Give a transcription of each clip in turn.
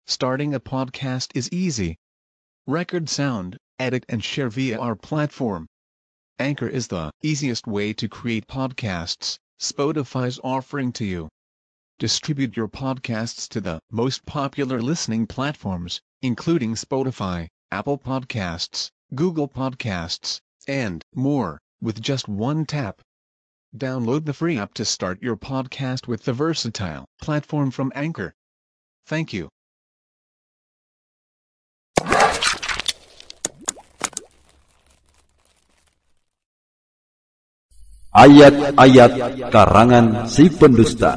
Starting a podcast is easy. Record sound, edit and share via our platform. Anchor is the easiest way to create podcasts Spotify's offering to you. Distribute your podcasts to the most popular listening platforms, including Spotify, Apple Podcasts, Google Podcasts, and more, with just one tap. Download the free app to start your podcast with the versatile platform from Anchor. Thank you. Ayat-ayat karangan si pendusta.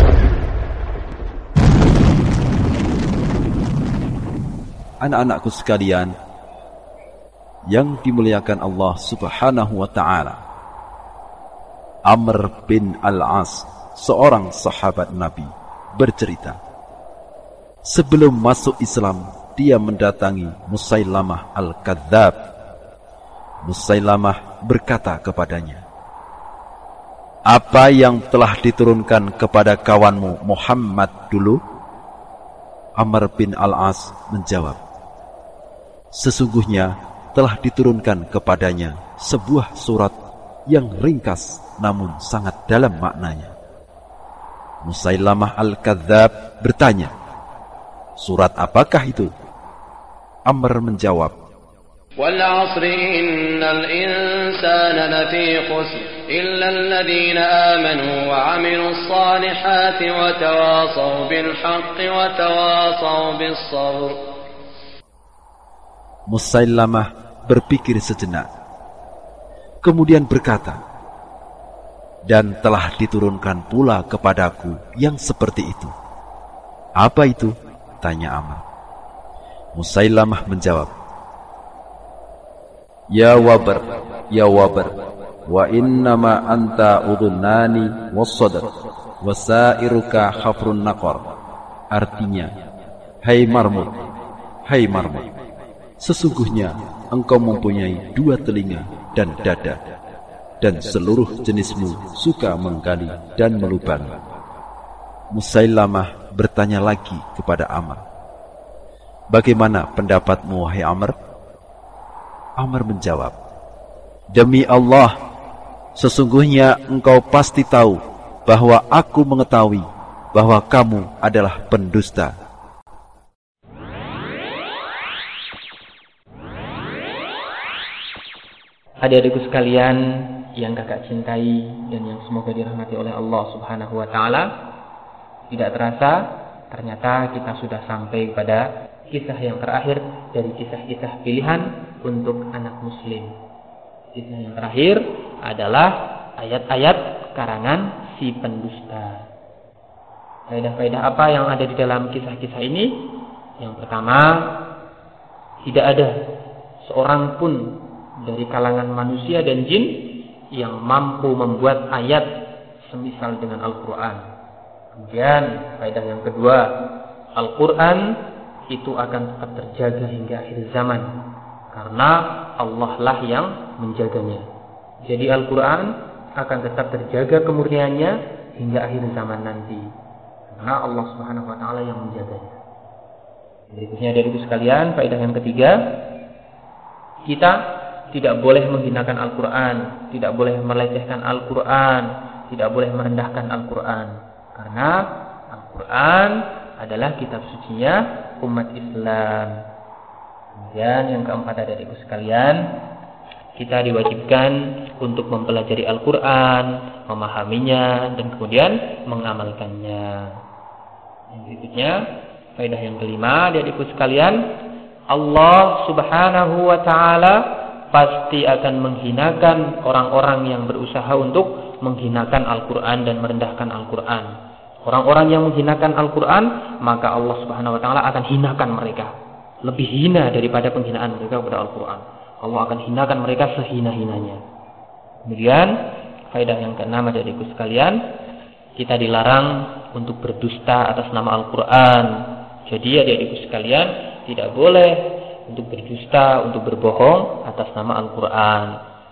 Anak-anakku sekalian yang dimuliakan Allah Subhanahu wa ta'ala, Amr bin Al-As, seorang sahabat Nabi, bercerita, sebelum masuk Islam dia mendatangi Musailamah Al-Kadzab. Musailamah berkata kepadanya, apa yang telah diturunkan kepada kawanmu Muhammad dulu? Amr bin Al-As menjawab, sesungguhnya telah diturunkan kepadanya sebuah surat yang ringkas namun sangat dalam maknanya. Musailamah Al-Kadzab bertanya, surat apakah itu? Amr menjawab, wal 'asri innal insana lafī khusr illa alladhīna āmanū wa 'amilus ṣālihāti wa tawāṣaw bil haqqi wa tawāṣaw bis ṣabr. Musailamah berpikir sejenak, kemudian berkata, dan telah diturunkan pula kepadaku yang seperti itu. Apa itu? Tanya Amr. Musailamah menjawab, ya wabar, wa innama anta udhunani wassadr wasairuka khafrun naqar. Artinya, hai marmut, sesungguhnya engkau mempunyai dua telinga dan dada, dan seluruh jenismu suka menggali dan melubangi. Musailamah bertanya lagi kepada Amr, bagaimana pendapatmu wahai Amr? Amr menjawab, demi Allah, sesungguhnya engkau pasti tahu bahwa aku mengetahui bahwa kamu adalah pendusta. Adik-adikku sekalian yang kakak cintai dan yang semoga dirahmati oleh Allah Subhanahu wa ta'ala, tidak terasa ternyata kita sudah sampai pada kisah yang terakhir dari kisah-kisah pilihan untuk anak muslim. Kisah yang terakhir adalah ayat-ayat karangan si pendusta. Faedah-faedah apa yang ada di dalam kisah-kisah ini? Yang pertama, tidak ada seorang pun dari kalangan manusia dan jin yang mampu membuat ayat semisal dengan Al-Quran. Kemudian faedah yang kedua, Al-Quran itu akan tetap terjaga hingga akhir zaman, karena Allah lah yang menjaganya. Jadi Al-Quran akan tetap terjaga kemurniannya hingga akhir zaman nanti, karena Allah Subhanahu wa ta'ala yang menjaganya. Berikutnya dari itu sekalian, faedah yang ketiga, kita tidak boleh menghinakan Al-Quran, tidak boleh melecehkan Al-Quran, tidak boleh merendahkan Al-Quran, karena Al-Quran adalah kitab sucinya umat Islam. Kemudian yang keempat adikku sekalian, kita diwajibkan untuk mempelajari Al-Quran, memahaminya, dan kemudian mengamalkannya. Yang berikutnya, faedah yang kelima adikku sekalian, Allah Subhanahu wa ta'ala pasti akan menghinakan orang-orang yang berusaha untuk menghinakan Al-Quran dan merendahkan Al-Quran. Orang-orang yang menghinakan Al-Quran, maka Allah Subhanahu wa ta'ala akan hinakan mereka. Lebih hina daripada penghinaan mereka kepada Al-Quran. Allah akan hinakan mereka sehina-hinanya. Kemudian, faedah yang keenam adikku sekalian, kita dilarang untuk berdusta atas nama Al-Quran. Jadi adikku sekalian, tidak boleh untuk berdusta, untuk berbohong atas nama Al-Quran.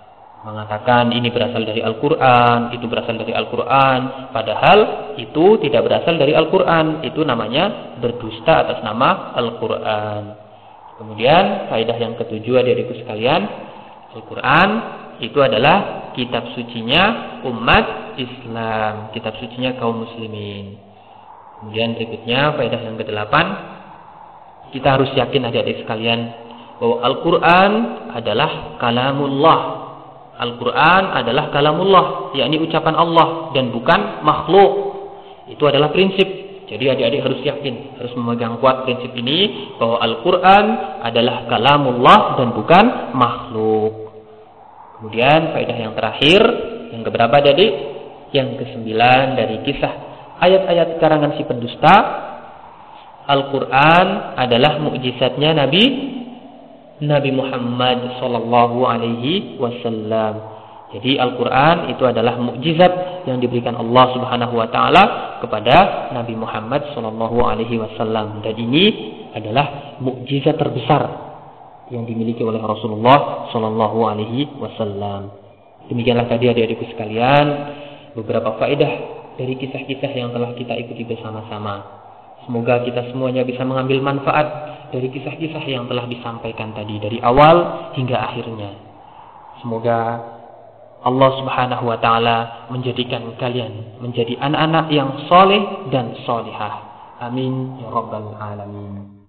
Mengatakan ini berasal dari Al-Quran, itu berasal dari Al-Quran, padahal itu tidak berasal dari Al-Quran. Itu namanya berdusta atas nama Al-Quran. Kemudian faedah yang ketujuh, adik-adikku sekalian, Al-Quran itu adalah kitab sucinya umat Islam, kitab sucinya kaum muslimin. Kemudian berikutnya faedah yang ke-8, kita harus yakin adik-adik sekalian bahwa Al-Quran adalah kalamullah. Al-Quran adalah kalamullah, yakni ucapan Allah dan bukan makhluk. Itu adalah prinsip. Jadi adik-adik harus yakin, harus memegang kuat prinsip ini bahwa Al-Quran adalah kalamullah dan bukan makhluk. Kemudian faedah yang terakhir, yang keberapa adik? Yang ke-9 dari kisah ayat-ayat karangan si pendusta. Al-Quran adalah mukjizatnya Nabi Muhammad sallallahu alaihi wasallam. Jadi Al-Quran itu adalah mukjizat yang diberikan Allah Subhanahu wa taala kepada Nabi Muhammad sallallahu alaihi wasallam, dan ini adalah mukjizat terbesar yang dimiliki oleh Rasulullah sallallahu alaihi wasallam. Demikianlah tadi adik-adikku sekalian beberapa faedah dari kisah-kisah yang telah kita ikuti bersama-sama. Semoga kita semuanya bisa mengambil manfaat dari kisah-kisah yang telah disampaikan tadi dari awal hingga akhirnya. Semoga Allah Subhanahu wa taala menjadikan kalian menjadi anak-anak yang soleh dan solihah. Amin ya rabbal alamin.